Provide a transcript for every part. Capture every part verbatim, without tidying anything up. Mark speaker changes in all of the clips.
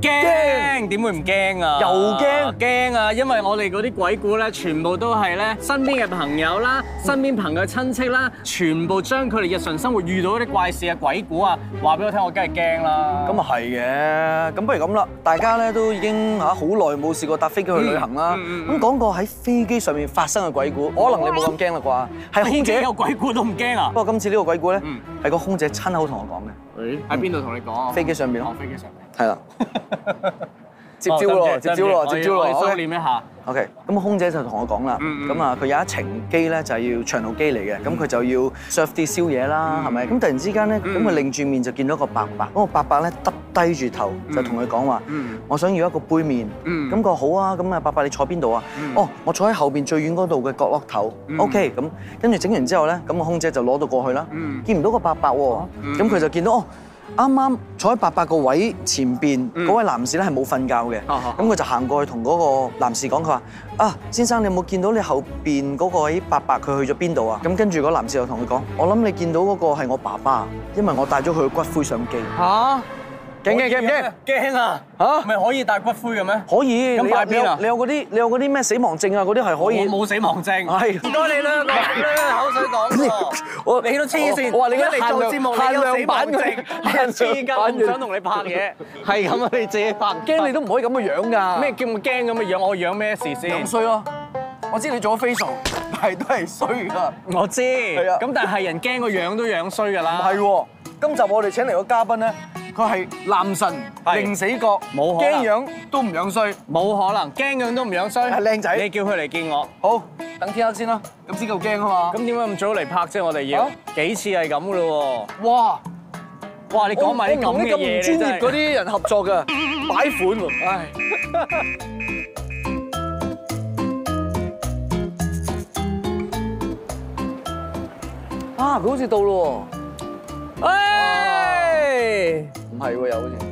Speaker 1: 驚，點會唔驚啊？
Speaker 2: 又驚
Speaker 1: 驚啊！因為我哋嗰啲鬼故咧，全部都係咧身邊嘅朋友啦、身邊朋友嘅親戚啦，全部將佢哋日常生活遇到嗰啲怪事啊、鬼故啊，話俾我聽，我梗係驚啦。
Speaker 2: 咁啊係嘅，咁不如咁啦，大家咧都已經嚇好耐冇試過搭飛機去旅行啦。咁講個喺飛機上面發生嘅鬼故，可能你冇咁驚啦啩？係空姐
Speaker 1: 有鬼故都唔驚啊！
Speaker 2: 不過今次呢個鬼故咧，係個空姐親口同我講嘅。
Speaker 1: 誒喺邊度同你講啊？
Speaker 2: 飛機上邊咯。
Speaker 1: 飛機上面。
Speaker 2: 係啦。接招咯，接招咯，接招咯！
Speaker 1: 我哋修練一下。
Speaker 2: OK，咁空姐就同我講啦，咁啊佢有一程機咧就係要長途機嚟嘅，咁佢就要 serve 啲宵夜啦，係咪？咁突然之間咧，咁佢擰住面就見到個伯伯，嗰個伯伯咧耷低住頭就同佢講話：我想要一個杯麵。咁佢話好啊，咁啊伯伯你坐邊度啊？哦，我坐喺後邊最遠嗰度嘅角落頭。OK，咁跟住整完之後咧，咁個空姐就攞到過去啦，見唔到個伯伯喎，咁佢就見到哦。啱啱坐喺伯伯個位前邊嗰位男士咧係冇瞓覺嘅，咁佢就行過去同嗰個男士講，佢話：啊，先生，你有冇見到你後邊嗰個位伯伯佢去咗邊度啊？咁跟住嗰男士就同佢講：我諗你見到嗰個係我爸爸，因為我帶咗佢嘅骨灰上機。嚇！驚驚驚唔驚？驚啊！嚇，咪可以帶骨灰嘅咩？可以。咁擺邊啊？你有嗰啲，你有嗰啲咩死亡證啊？嗰啲係可以。我冇死亡證。係。唔該你啦，口水講喎。我你都黐線。我話你而家嚟做節目，你有死亡證，黐筋，唔想同你拍嘢。係咁啊，你自己拍。驚你都唔可以咁嘅樣㗎。咩叫我驚咁嘅樣？我樣咩事先？樣衰咯。我知你做咗 facial，但係都係衰㗎。我知。係啊。咁但係人驚個樣都樣衰㗎啦。唔係喎，今集我哋請嚟個嘉賓咧。佢係男神，零死角，冇可能，驚樣都唔樣衰，冇可能，驚樣都唔樣衰，係靚仔。你叫佢嚟見我，好，等天黑先啦，咁先夠驚啊嘛。咁點解咁早嚟拍啫？我哋要幾次係咁噶咯喎。哇，哇！你講埋啲咁嘅嘢，專業嗰啲人合作㗎，擺款喎，唉。啊！佢好似到咯喎，唉。唔係喎，又好似。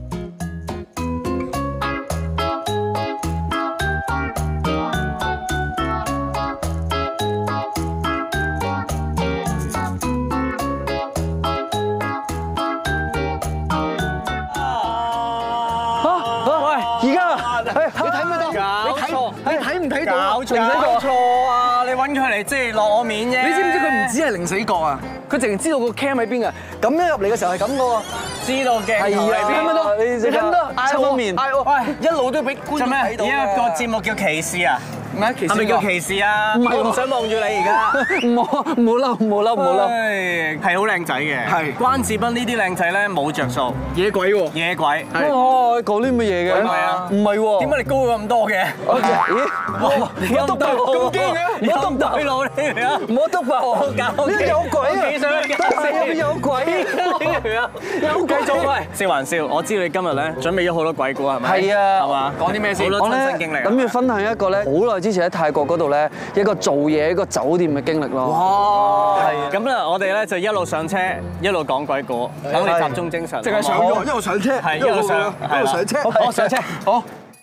Speaker 2: 喂，而家，你睇唔睇到？搞錯，你睇唔睇到？搞錯啊！你揾佢嚟即係落我面啫。你知唔知佢唔止係零死角啊？佢淨係知道個 cam 喺邊㗎。咁樣入嚟嘅時候係咁嘅喎。知道鏡頭嚟邊？睇唔到？你睇唔到？抽面。喂，一路都俾觀眾睇到。而家個節目叫歧視啊？咩歧視？係咪叫歧視啊？唔係，我唔想望住你而家。唔好，唔好嬲，唔好嬲，唔好嬲。係好靚仔嘅。係。關智斌呢啲靚仔咧冇着數。野鬼喎。野鬼。係。哦，講啲乜嘢嘅？唔係啊。唔係喎。點解你高咗咁多嘅？咦？哇！你咁大咁驚嘅？你咁大佬你嚟啊？唔好篤爆我搞。呢有鬼啊！幾想搞？有鬼？有鬼做咩？笑還笑，我知道你今日咧準備咗好多鬼故係咪？係啊。係嘛？講啲咩先？好多親身經歷。咁要分享一個咧，好耐之前喺泰國嗰度咧，一個做嘢一個酒店嘅經歷咯。哇！係。咁咧，我哋咧就一路上車，一路講鬼故，等你集中精神。淨係上咗，一路上車，係一路上，一路上車。好，上車。好。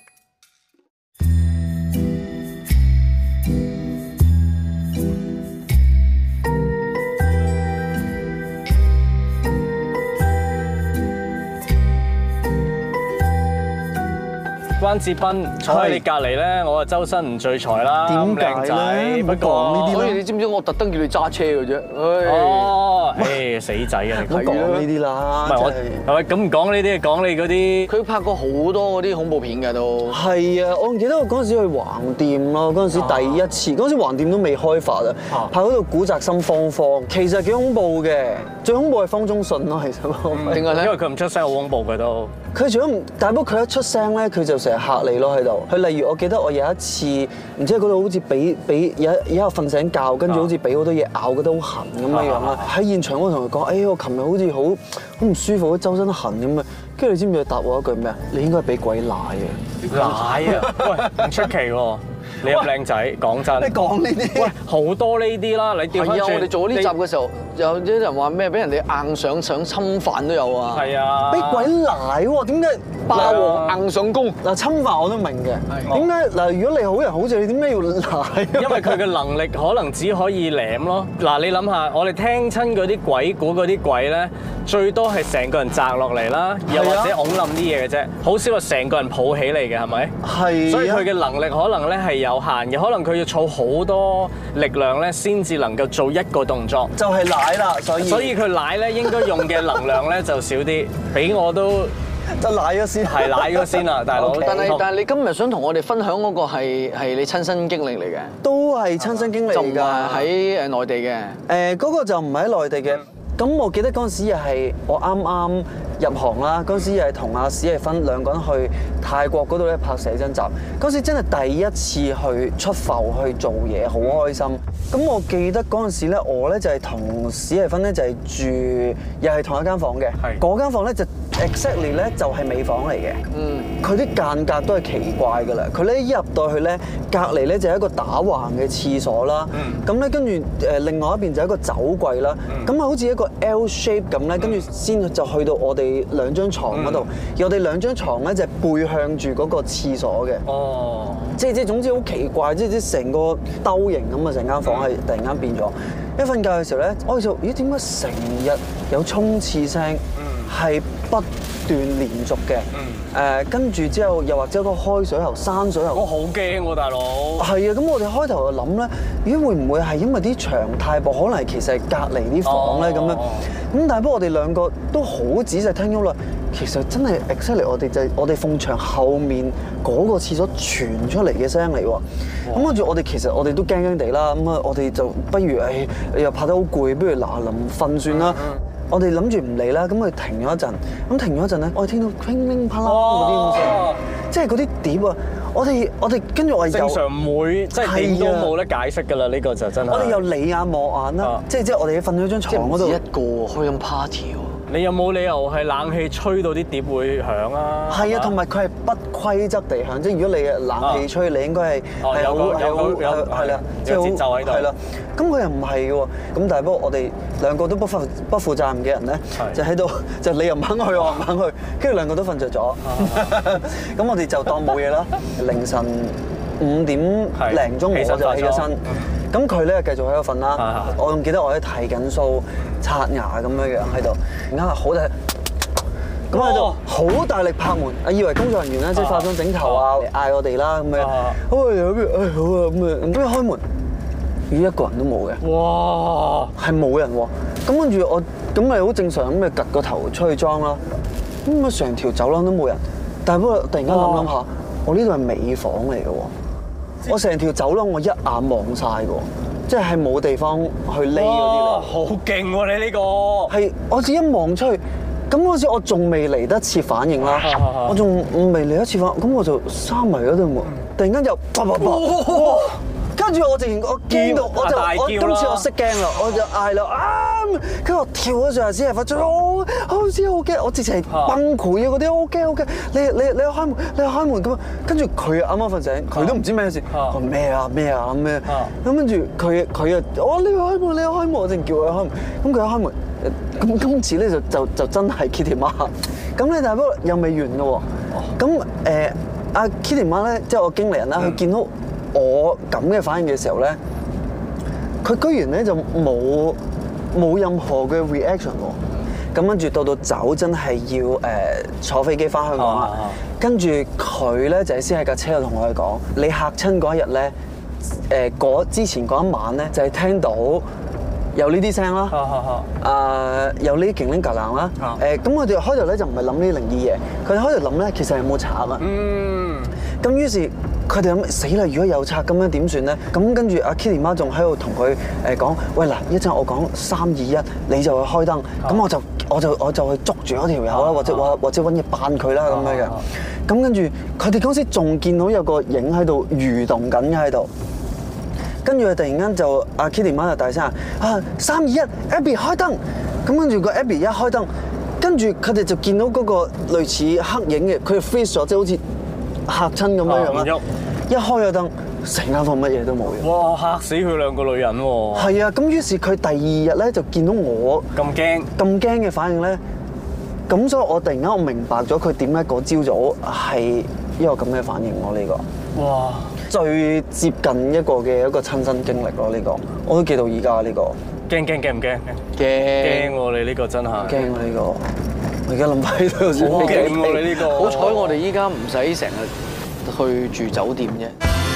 Speaker 2: 關智斌坐喺你隔離咧，我啊周身唔聚財啦，點靚仔。不過呢啲，所以你知唔知我特登叫你揸車嘅啫？哦，誒死仔啊！你講呢啲啦，唔係我係咪咁唔講呢啲？講你嗰啲。佢拍過好多嗰啲恐怖片㗎都。係啊，我記得我嗰陣時去橫店咯，嗰陣時第一次，嗰陣時橫店都未開發啊，拍嗰度古宅心慌慌，其實幾恐怖嘅，最恐怖係方中信咯，其實。點解咧？因為佢唔出聲，好恐怖嘅都。佢除咗唔，但不過佢一出聲咧，佢就成日嚇你咯喺度。佢例如我記得我有一次，唔知喺嗰度好似俾俾有有一日瞓醒覺，跟住好似俾好多嘢咬，覺得好痕咁樣樣啦。喺現場我同佢講：哎呀，我琴日好似好好唔舒服，周身痕咁啊。跟住你知唔知佢答我一句咩啊？你應該係俾鬼奶啊！奶啊！喂，唔出奇喎。
Speaker 1: 你咁靚仔，講真。
Speaker 2: 你講呢啲？
Speaker 1: 喂，好多呢啲啦，你調翻轉。
Speaker 3: 係啊，我哋做呢集嘅時候，有啲人話咩？俾人哋硬上想侵犯都有啊。
Speaker 1: 係啊。
Speaker 2: 俾鬼奶喎？點解
Speaker 3: 霸王硬上弓？
Speaker 2: 嗱，侵犯我都明嘅。點解嗱？如果你好人好事，你點解要奶？
Speaker 1: 因為佢嘅能力可能只可以舐咯。嗱，你諗下，我哋聽親嗰啲鬼故嗰啲鬼咧，最多係成個人擲落嚟啦，又或者擁冧啲嘢嘅啫，好少話成個人抱起嚟嘅，係咪？係。所以佢嘅能力可能咧係有限嘅，可能佢要儲好多力量咧，先至能夠做一個動作。
Speaker 2: 就係奶啦，所以。所以
Speaker 1: 佢奶咧應該用嘅能量咧就少啲，俾我都
Speaker 2: 就奶咗先，
Speaker 1: 係奶咗先啦，大佬。
Speaker 3: 但係但係你今日想同我哋分享嗰個係係你親身經歷嚟嘅，
Speaker 2: 都係親身經歷㗎，
Speaker 3: 就唔係喺誒內地嘅。
Speaker 2: 誒嗰個就唔係喺內地嘅。咁我記得嗰陣時又係我啱啱入行啦，嗰陣時又係同阿史逸芬兩個人去泰國嗰度咧拍寫真集，嗰時真係第一次去出埠去做嘢，好開心。咁我記得嗰陣時咧，我咧就係同史逸芬咧就係住，又係同一間房嘅。係。嗰間房咧就 exactly 咧就係尾房嚟嘅。嗯。佢啲間隔都係奇怪㗎啦。佢咧一入到去咧，隔離咧就係一個打橫嘅廁所啦。嗯。咁咧跟住誒另外一邊就係一個酒櫃啦。嗯。咁啊好似一個 L shape 咁咧，跟住先就去到我哋兩張床嗰度。嗯。而我哋兩張床咧就係背向住嗰個廁所嘅。哦。即係即係總之好奇怪，即係即係成個兜形咁啊！成間房係突然間變咗。一瞓覺嘅時候咧，我就咦點解成日有沖廁聲？係不斷連續嘅。誒跟住之後又或者個開水喉、閂水喉。我好驚喎，大佬。係啊，咁我哋開頭就諗咧，咦會唔會係因為啲牆太薄，可能其實係隔離啲房咧咁樣？咁但係不過我哋兩個都好仔細聽咗啦。其實真係 exactly 我哋就係我哋埲牆後面嗰個廁所傳出嚟嘅聲嚟喎。咁跟住我哋其實我哋都驚驚地啦。咁啊，我哋就不如誒又拍得好攰，不如嗱臨瞓算啦。我哋諗住唔嚟啦，咁佢停咗一陣。咁停咗一陣咧，我哋聽到乒乒乓乓嗰啲咁聲，即係嗰啲碟啊！我哋我哋跟住我哋正常唔會，即係點都冇得解釋㗎啦。呢個就真係。我哋又你眼望眼啦，即係即係我哋瞓咗張床嗰度，一個開緊 party 喎。你有冇理由係冷氣吹到啲碟會響啊？係啊，同埋佢係不規則地響，即係如果你冷氣吹，你應該係係好係好係啦，即係好節奏喺度。係啦，咁佢又唔係嘅喎。咁但係不過我哋兩個都不負不負責任嘅人咧，就喺度就你又唔肯去，我唔肯去，跟住兩個都瞓着咗。咁我哋就當冇嘢啦。凌晨五點零鐘我就起咗身。咁佢咧繼續喺度瞓啦，我仲記得我喺睇緊數、刷牙咁樣樣喺度，而家好大，咁喺度好大力拍門，啊以為工作人員咧即係化妝整頭啊嗌我哋啦咁樣，好啊有邊誒好啊咁啊，咁一開門，咦一個人都冇嘅，哇係冇人喎，咁跟住我咁咪好正常咁咪趌個頭出去裝啦，咁啊成條走廊都冇人，但係不過突然間諗諗下，我呢度係尾房嚟嘅喎。我成條走廊我一眼望晒嘅，即係冇地方去匿嗰啲嚟。好勁喎你呢個！係我自己一望出去，咁嗰時我仲未嚟得切反應啦，我仲未嚟得切反應，咁我就閂埋嗰度門，突然間就啪啪啪，跟住我直然我驚到，我就我今次我識驚啦，我就嗌啦啊！跟住我跳咗上嚟先係發出好好似好驚，我直情係崩潰啊！嗰啲好驚好驚，你你你開門，你開門咁，跟住佢啱啱瞓醒，佢都唔知咩事，話咩啊咩啊咁咩，咁跟住佢佢又我你開門你開門，我淨叫佢開門，咁佢一開門，咁今次咧就就就真係 Kitty 媽，咁咧但係不過又未完嘅喎，咁誒阿 Kitty 媽咧即係我經理人啦，佢見到我咁嘅反應嘅時候咧，佢居然咧就冇冇任何嘅 reaction 喎。咁跟住到到走真係要誒坐飛機翻香港啦。跟住佢咧就係先喺架車度同我哋講：你嚇親嗰一日咧，誒嗰之前嗰一晚咧就係聽到有呢啲聲啦，啊有呢啲勁鈴格冷啦。誒咁我哋開頭咧就唔係諗呢啲靈異嘢，佢哋開頭諗咧其實係冇賊啊。嗯。咁於是。佢哋諗死啦！如果有賊咁樣點算咧？咁跟住阿 Kitty 媽仲喺度同佢誒講：喂嗱，一陣我講三二一，你就去開燈。咁我就我就我就去捉住嗰條友啦，或者或或者揾嘢扮佢啦咁樣嘅。咁跟住佢哋嗰時仲見到有個影喺度蠕動緊嘅喺度。跟住佢突然間就阿 Kitty 媽就大聲啊三二一 Abby 開燈。咁跟住個 Abby 一開燈，跟住佢哋就見到嗰個類似黑影嘅，佢 freeze 咗，即係好似嚇親咁樣樣啦！一開咗燈，
Speaker 4: 成間房乜嘢都冇嘅。
Speaker 1: 哇！嚇死佢兩個女人喎。
Speaker 4: 係啊，咁於是佢第二日咧就見到我
Speaker 1: 咁驚
Speaker 4: 咁驚嘅反應咧，咁所以我突然間我明白咗佢點解嗰朝早係一個咁嘅反應咯。呢個哇，最接近一個嘅一個親身經歷咯。呢個我都記到而家呢個。
Speaker 1: 驚驚驚唔驚？
Speaker 3: 驚
Speaker 1: 驚喎！你呢個真係
Speaker 4: 驚啊！呢個我而家諗翻都有少
Speaker 1: 好驚喎！你呢個
Speaker 3: 好彩我哋依家唔使成日去住酒店啫。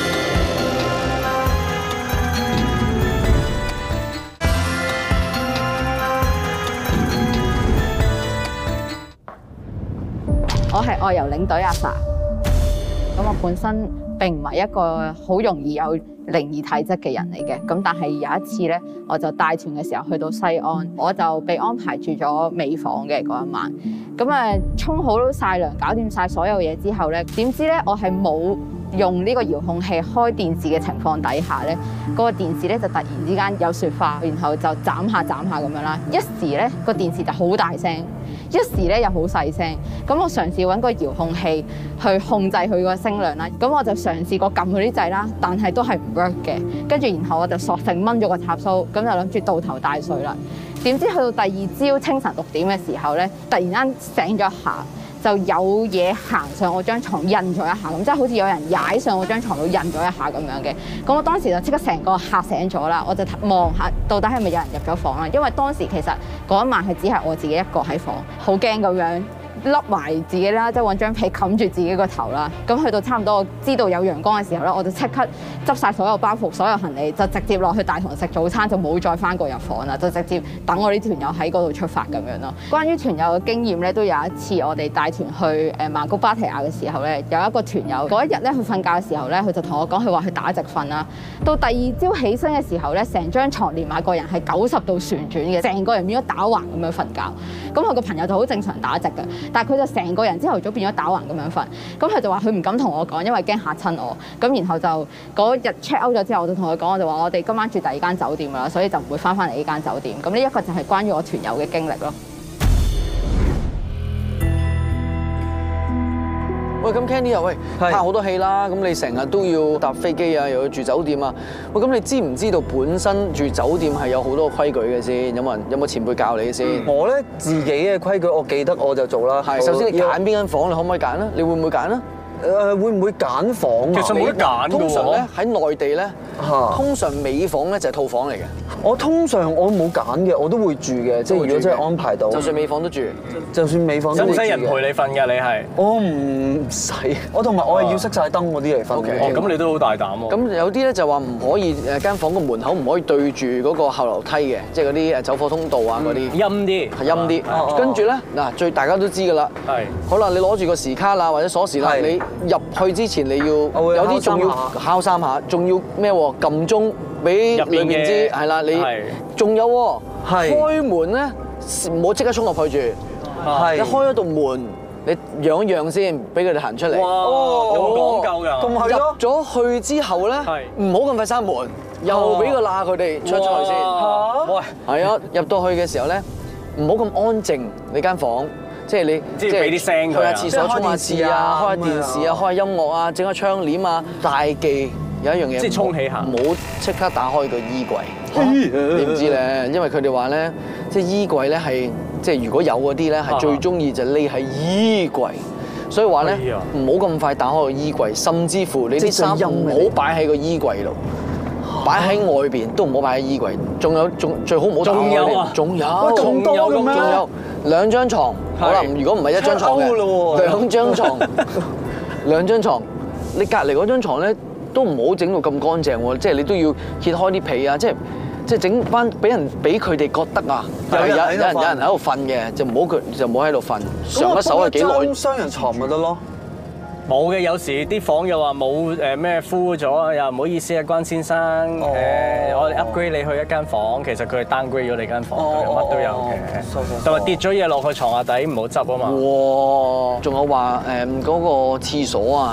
Speaker 5: 我係外遊領隊阿 Sa， 咁我本身並唔係一個好容易有靈異體質嘅人嚟嘅，咁但係有一次咧，我就帶團嘅時候去到西安，我就被安排住咗尾房嘅嗰一晚。咁啊，沖好晒涼，搞掂晒所有嘢之後咧，點知咧我係冇用呢個遙控器開電視嘅情況底下咧，嗰個電視咧就突然之間有雪花，然後就斬下斬下咁樣啦。一時咧個電視就好大聲，一時咧又好細聲。咁我嘗試揾個遙控器去控制佢個聲量啦。咁我就嘗試過撳佢啲掣啦，但係都係唔 work 嘅。跟住然後我就索性掹咗個插蘇，咁就諗住倒頭大睡啦。點知去到第二朝清晨六點嘅時候咧，突然間醒咗一下，就有嘢行上我張床印咗一下，咁即係好似有人踩上我張床度印咗一下咁樣嘅。咁我當時就即刻成個嚇醒咗啦，我就望下到底係咪有人入咗房啦。因為當時其實嗰一晚係只係我自己一個喺房，好驚咁樣笠埋自己啦，即係揾張被冚住自己個頭啦。咁去到差唔多我知道有陽光嘅時候咧，我就即刻執晒所有包袱、所有行李，就直接落去大堂食早餐，就冇再翻過入房啦，就直接等我啲團友喺嗰度出發咁樣咯。關於團友嘅經驗咧，都有一次我哋帶團去誒曼谷芭提雅嘅時候咧，有一個團友嗰一日咧，佢瞓覺嘅時候咧，佢就同我講，佢話佢打直瞓啦。到第二朝起身嘅時候咧，成張床連埋個人係九十度旋轉嘅，成個人變咗打橫咁樣瞓覺。咁我個朋友就好正常打直嘅。但係佢就成個人朝頭早變咗打橫咁樣瞓，咁佢就話佢唔敢同我講，因為驚嚇親我。咁然後就嗰日 check out 咗之後，我就同佢講，我就話我哋今晚住第二間酒店啦，所以就唔會翻返嚟呢間酒店。咁呢一個就係關於我團友嘅經歷咯。
Speaker 3: 喂，咁 Kenny 啊，喂，拍好多戲啦，咁你成日都要搭飛機啊，又要住酒店啊。喂，咁你知唔知道本身住酒店係有好多規矩嘅先？有冇人有冇前輩教你先？
Speaker 4: 我咧自己嘅規矩，我記得我就做啦。
Speaker 3: 係，首先你揀邊間房，你可唔可以揀啊？你會唔會揀啊？
Speaker 4: 誒，會唔會揀房啊？
Speaker 1: 其實冇得揀嘅喎。
Speaker 3: 通常咧喺內地咧，通常尾房咧就係套房嚟嘅。
Speaker 4: 我通常我冇揀嘅，我都會住嘅。即係如果真係安排到，
Speaker 3: 就算尾房都住，
Speaker 4: 就算尾房都會住嘅。
Speaker 1: 使唔使人陪你瞓㗎？你係？
Speaker 4: 我唔使，我同埋我係要熄晒燈嗰啲嚟瞓嘅。
Speaker 1: 哦，咁你都好大膽喎。
Speaker 3: 咁有啲咧就話唔可以誒間房個門口唔可以對住嗰個後樓梯嘅，即係嗰啲誒走火通道啊嗰啲。
Speaker 1: 陰啲，
Speaker 3: 係陰啲。跟住咧嗱，最大家都知㗎啦。係。好啦，你攞住個時卡啦或者鎖匙啦，你入去之前你要有啲仲要敲三下，仲要咩喎？撳鐘俾裏面知係啦，你仲有喎，開門咧唔好即刻衝落去住，你開咗道門，你讓一讓先，俾佢哋行出嚟。
Speaker 1: 哇，有講究㗎。
Speaker 4: 咁係咯。
Speaker 3: 入咗去之後咧，唔好咁快閂門，又俾個罅佢哋出咗去先。喂，係啊，入到去嘅時候咧，唔好咁安靜你間房。即係你，
Speaker 1: 即係俾啲聲佢，
Speaker 3: 去下廁所沖下廁啊，開下電視啊，開下音樂啊，整下窗簾啊。大忌有一樣嘢，
Speaker 1: 即係沖起下，
Speaker 3: 唔好即刻打開個衣櫃。你唔知咧，因為佢哋話咧，即係衣櫃咧係即係如果有嗰啲咧係最中意就匿喺衣櫃，所以話咧唔好咁快打開個衣櫃，甚至乎你啲衫唔好擺喺個衣櫃度。擺喺外邊都唔好擺喺衣櫃，仲有仲最好唔好打開。仲有啊，仲有，
Speaker 4: 咁多嘅咩？
Speaker 3: 仲有兩張床，好啦，如果唔係一張床嘅，兩張床，兩張床，你隔離嗰張床咧都唔好整到咁乾淨喎，即係你都要揭開啲被啊，即係即係整翻俾人俾佢哋覺得啊，有有有人有人喺度瞓嘅，就唔好佢就唔好喺度瞓。上一手係幾耐？
Speaker 4: 雙人床咪得咯。
Speaker 1: 冇嘅，有時啲房又話冇誒咩敷咗，又唔好意思啊，關先生誒，我哋 upgrade 你去一間房，其實佢係 downgrade 咗你間房，乜都有嘅。同埋跌咗嘢落去床下底，唔好執啊嘛。
Speaker 3: 哇！仲有話誒嗰個廁所啊，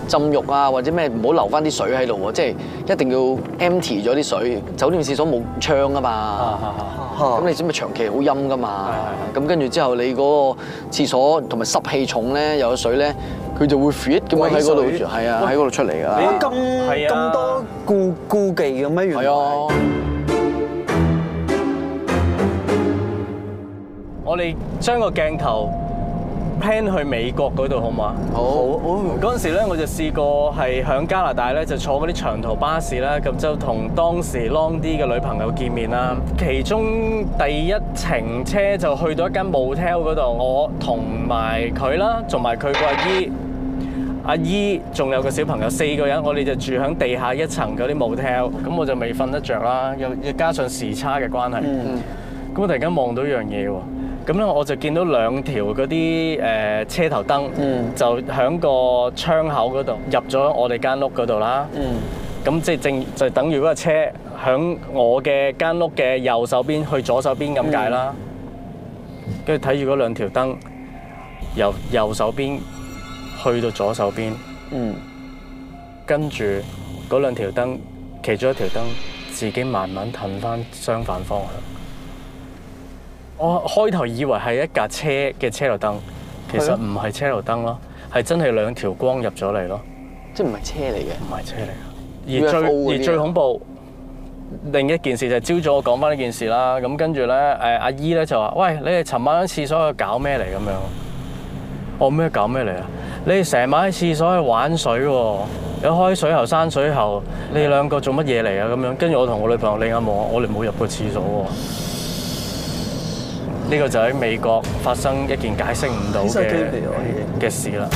Speaker 3: 浸浴啊或者咩唔好留翻啲水喺度喎，即係一定要 empty 咗啲水。酒店廁所冇窗啊嘛，咁你知咪長期好陰噶嘛，咁跟住之後你嗰個廁所同埋濕氣重咧，有水咧，佢就會 fit 咁樣喺嗰度，係啊，喺嗰度出嚟㗎啦。
Speaker 4: 咁咁多顧顧忌嘅咩？原來係啊。
Speaker 1: 我哋將個鏡頭 plan 去美國嗰度好嘛？好。嗰陣時咧，我就試過係喺加拿大咧，就坐嗰啲長途巴士啦，咁就同當時 long 啲嘅女朋友見面啦。其中第一程車就去到一間 motel 嗰度，我同埋佢啦，同埋佢個阿姨。阿姨仲有個小朋友，四個人，我哋就住喺地下一層嗰啲 motel，咁我就未瞓得着啦，又又加上時差嘅關係，咁、嗯、我突然間望到一樣嘢喎，咁咧我就見到兩條嗰啲誒車頭燈，嗯、就喺個窗口嗰度入咗我哋間屋嗰度啦，咁即係正就等於嗰個車喺我嘅間屋嘅右手邊去左手邊咁解啦，跟住睇住嗰兩條燈由右手邊去到左手邊，嗯，跟住嗰兩條燈，其中一條燈自己慢慢褪翻相反方向。我開頭以為係一架車嘅車頭燈，其實唔係車頭燈咯，係真係兩條光入咗嚟咯，
Speaker 3: 即係唔係車嚟嘅，
Speaker 1: 唔係車嚟嘅。而最而最恐怖另一件事就係朝早我講翻呢件事啦，咁跟住咧誒阿姨咧就話：喂，你哋尋晚喺廁所去搞咩嚟咁樣？我咩搞咩嚟啊？你哋成晚喺廁所去玩水喎，有開水喉、閂水喉，你哋兩個做乜嘢嚟啊？咁樣，跟住我同我女朋友另眼望，我哋冇入過廁所喎。呢個就喺美國發生一件解釋唔到嘅嘅事啦。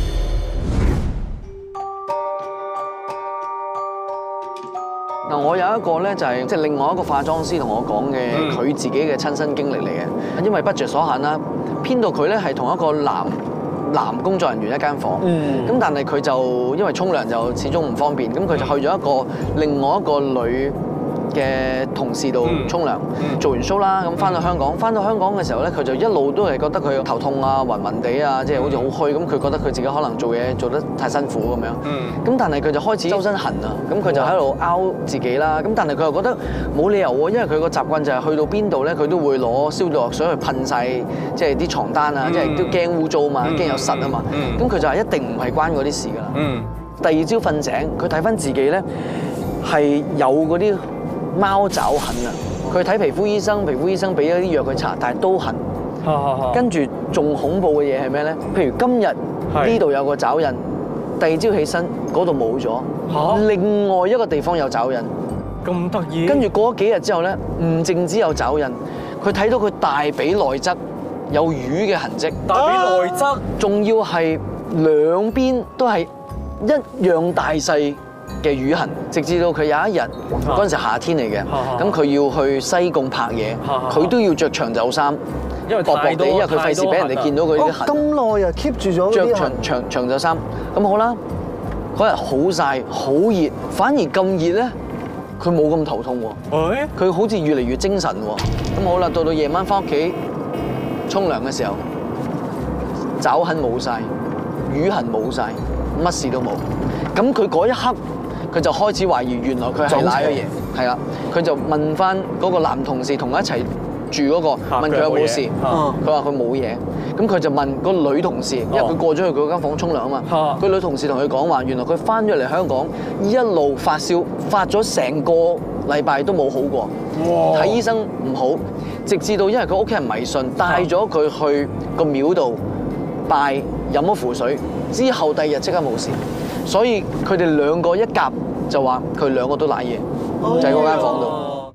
Speaker 3: 嗱，我有一個咧就係即係另外一個化妝師同我講嘅佢自己嘅親身經歷嚟嘅，因為 budget 所限啦，編到佢咧係同一個男男工作人員一間房，咁、嗯、但係佢就因為沖涼就始終唔方便，咁佢就去咗一個另外一個女嘅同事度沖涼，做完 show 啦，咁翻到香港，翻到香港嘅時候咧，佢就一路都係覺得佢頭痛啊、暈暈地啊，即係好似好虛，咁佢覺得佢自己可能做嘢做得太辛苦咁樣，咁但係佢就開始周身痕啊，咁佢就喺度拗自己啦，咁但係佢又覺得冇理由喎，因為佢個習慣就係去到邊度咧，佢都會攞消毒藥水去噴晒，即係啲床單啊，即係都驚污糟嘛，驚有虱啊嘛，咁佢就係一定唔係關嗰啲事㗎啦。第二朝瞓醒，佢睇翻自己咧係有嗰啲貓爪痕啊！佢睇皮膚醫生，皮膚醫生俾咗啲藥佢搽，但係都痕。跟住仲恐怖嘅嘢係咩咧？譬如今日呢度有個爪印，第二朝起身嗰度冇咗，另外一個地方有爪印。
Speaker 1: 咁得意！跟
Speaker 3: 住過咗幾日之後咧，唔淨止有爪印，佢睇到佢大髀內側有魚嘅痕跡。
Speaker 1: 大髀內側，
Speaker 3: 仲要係兩邊都係一樣大細嘅瘀痕，直至到佢有一日嗰陣時夏天嚟嘅，咁佢要去西貢拍嘢，佢都要着長袖衫，
Speaker 1: 因為
Speaker 3: 薄薄地，因為佢費事俾人哋見到佢啲痕。
Speaker 4: 咁耐啊 keep 住咗
Speaker 3: 着長長長袖衫，咁好啦。嗰日好曬好熱，反而咁熱咧，佢冇咁頭痛喎。佢好似越嚟越精神喎。咁好啦，到到夜晚翻屋企沖涼嘅時候，爪痕冇曬，瘀痕冇曬，乜事都冇。咁佢嗰一刻，佢就開始懷疑，原來佢係賴咗嘢，係啦。佢就問翻嗰個男同事同佢一齊住嗰個，問佢有冇事，佢話佢冇嘢。咁佢就問個女同事，因為佢過咗去佢嗰間房沖涼啊嘛。佢女同事同佢講話，原來佢翻咗嚟香港，一路發燒，發咗成個禮拜都冇好過，睇醫生唔好，直至到因為佢屋企人迷信，帶咗佢去個廟度拜，飲咗符水，之後第二日即刻冇事。所以佢哋兩個一夾就話佢兩個都賴嘢，就喺嗰間房度。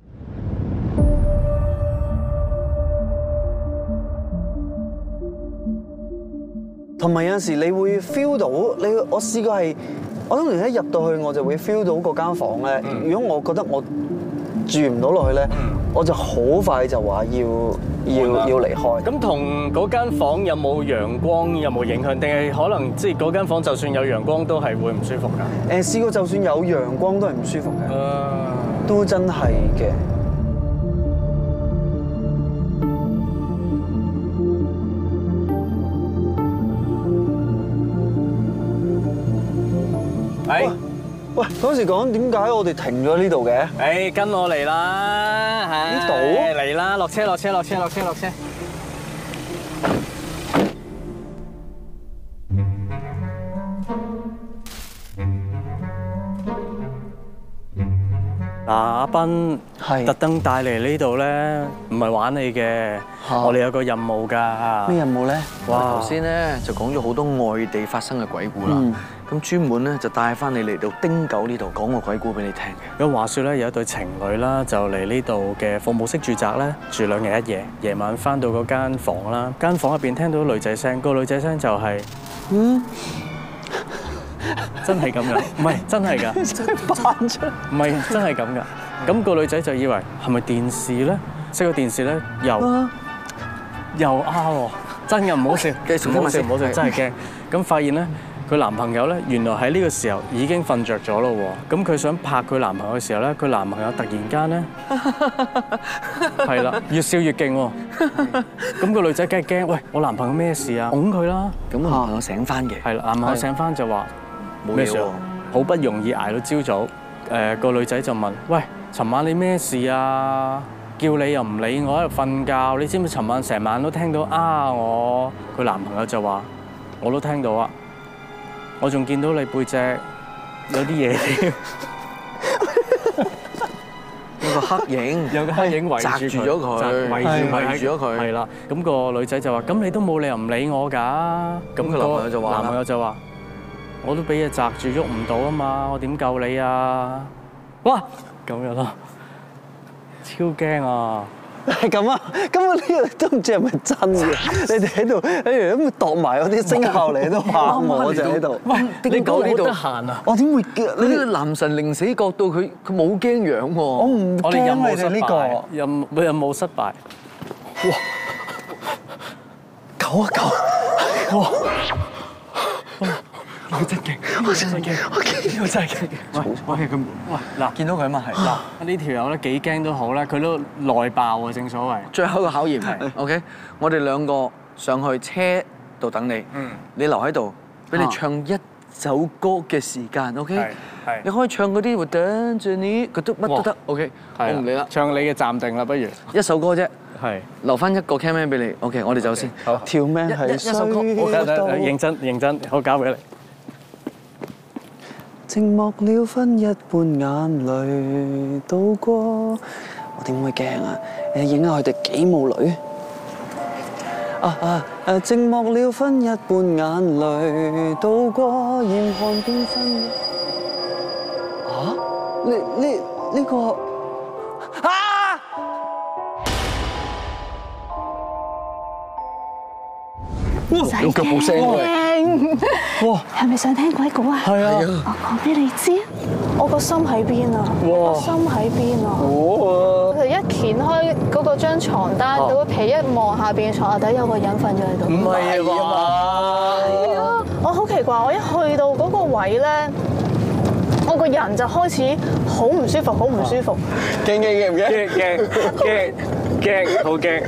Speaker 4: 同埋有陣時你會 feel 到你，我試過係，我當年一入到去我就會 feel 到嗰間房咧。如果我覺得我住唔到落去咧，我就好快就話要要要離開。
Speaker 1: 咁同嗰間房有冇陽光有冇影響？定係可能即係嗰間房就算有陽光都係會唔舒服㗎？
Speaker 4: 誒試過就算有陽光都係唔舒服嘅，都真係嘅。
Speaker 1: 係。
Speaker 4: 喂，嗰時講點解我哋停咗呢度嘅？
Speaker 1: 誒，跟我嚟啦，係
Speaker 4: 呢度
Speaker 1: 嚟啦，落車落車落車落車落車。嗱，阿斌
Speaker 4: 係
Speaker 1: 特登帶嚟呢度咧，唔係玩你嘅，我哋有個任務㗎。
Speaker 4: 咩任務咧？
Speaker 2: 哇！頭先咧就講咗好多外地發生嘅鬼故啦，咁專門咧就帶翻你嚟到丁九呢度講個鬼故俾你聽嘅。
Speaker 1: 咁話説咧，有一對情侶啦，就嚟呢度嘅服務式住宅咧住兩日一夜，夜晚翻到嗰間房啦，間房入邊聽到女仔聲，個女仔聲就係嗯。真係咁㗎，唔係真係㗎，扮出，唔係真係咁㗎。咁個女仔就以為係咪電視咧？熄個電視咧，又又啱喎，真嘅唔好笑，唔好笑唔好笑，真係驚。咁發現咧，佢男朋友咧原來喺呢個時候已經瞓着咗咯喎。咁佢想拍佢男朋友嘅時候咧，佢男朋友突然間咧係啦，越笑越勁喎。咁個女仔梗係驚，喂，我男朋友咩事啊？擁佢啦。
Speaker 2: 咁男朋友醒翻嘅，
Speaker 1: 係啦，男朋友醒翻就話。
Speaker 2: 咩事喎？
Speaker 1: 好不容易捱到朝早，誒個女仔就問：喂，尋晚你咩事啊？叫你又唔理我喺度瞓覺，你知唔知尋晚成晚都聽到啊我？佢男朋友就話：我都聽到啊，我仲見到你背脊有啲嘢添，
Speaker 2: 有個黑影，
Speaker 1: 有個黑影圍住
Speaker 2: 住咗佢，
Speaker 1: 圍住
Speaker 2: 圍住咗佢。
Speaker 1: 係啦，咁個女仔就話：咁你都冇理由唔理我㗎。咁佢男朋友就話：男朋友就話。我都俾嘢擲住喐唔到啊嘛，我點救你啊？哇，咁樣咯，超驚啊！
Speaker 4: 係咁啊，根本呢個都唔知係咪真嘅。你哋喺度，喺度咁度埋嗰啲聲效嚟都嚇我就喺度。
Speaker 2: 喂，你講呢度
Speaker 1: 得閒啊？
Speaker 4: 我點會？
Speaker 2: 你呢個男神零死角度，佢佢冇驚樣喎。
Speaker 4: 我唔驚你哋呢個
Speaker 1: 任任務失敗。哇！
Speaker 4: 狗啊狗！哇！
Speaker 1: 我真驚，我真係驚，我驚，我真係驚。喂喂咁，喂嗱，見到佢啊嘛係嗱，呢條友咧幾驚都好啦，佢都內爆啊，正所謂。
Speaker 2: 最後一個考驗係 ，OK，我哋兩個上去車度等你，嗯，你留喺度，俾你唱一首歌嘅時間 ，OK，係，你可以唱嗰啲會等住你，佢都乜都得 ，OK，我唔理啦，
Speaker 1: 唱你嘅暫定啦，不如
Speaker 2: 一首歌啫。
Speaker 1: 係
Speaker 2: 留翻一個 camera 俾你 ，OK， 我哋走先。
Speaker 1: 好，
Speaker 4: 條命係
Speaker 2: 一首歌，
Speaker 1: 我認真認真，我交俾你。
Speaker 4: 靜默了分一半眼淚渡過，我點會驚啊？誒，影下佢哋幾母女。啊啊誒！靜默了分一半眼淚渡過，嚴寒變分一。啊？呢呢呢個啊！
Speaker 2: 有腳步聲喎！
Speaker 6: 哇！係咪想聽鬼故啊？
Speaker 4: 係啊！
Speaker 6: 我講俾你知，我個心喺邊啊！我心喺邊啊！我就一掀開嗰個張牀單，嗰個被一望下邊嘅牀下底有個人瞓咗喺度。
Speaker 1: 唔係啊嘛！
Speaker 6: 係啊！我好奇怪，我一去到嗰個位咧，我個人就開始好唔舒服，好唔舒服。
Speaker 4: 驚驚驚唔驚？
Speaker 1: 驚驚驚驚，好驚！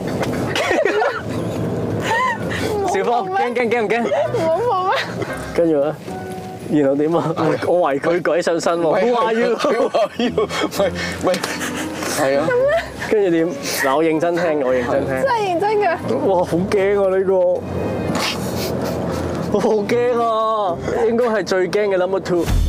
Speaker 1: 小芳，驚驚驚唔驚？
Speaker 6: 冇冇咩？
Speaker 1: 跟住咧，然後點啊？我為佢鬼上身喎！我話要，我話要，喂喂，係啊。跟住點？嗱，我認真聽，我認真聽。
Speaker 6: 真係認真㗎！
Speaker 1: 哇，好驚啊！呢個，我好驚啊！應該係最驚嘅 number two。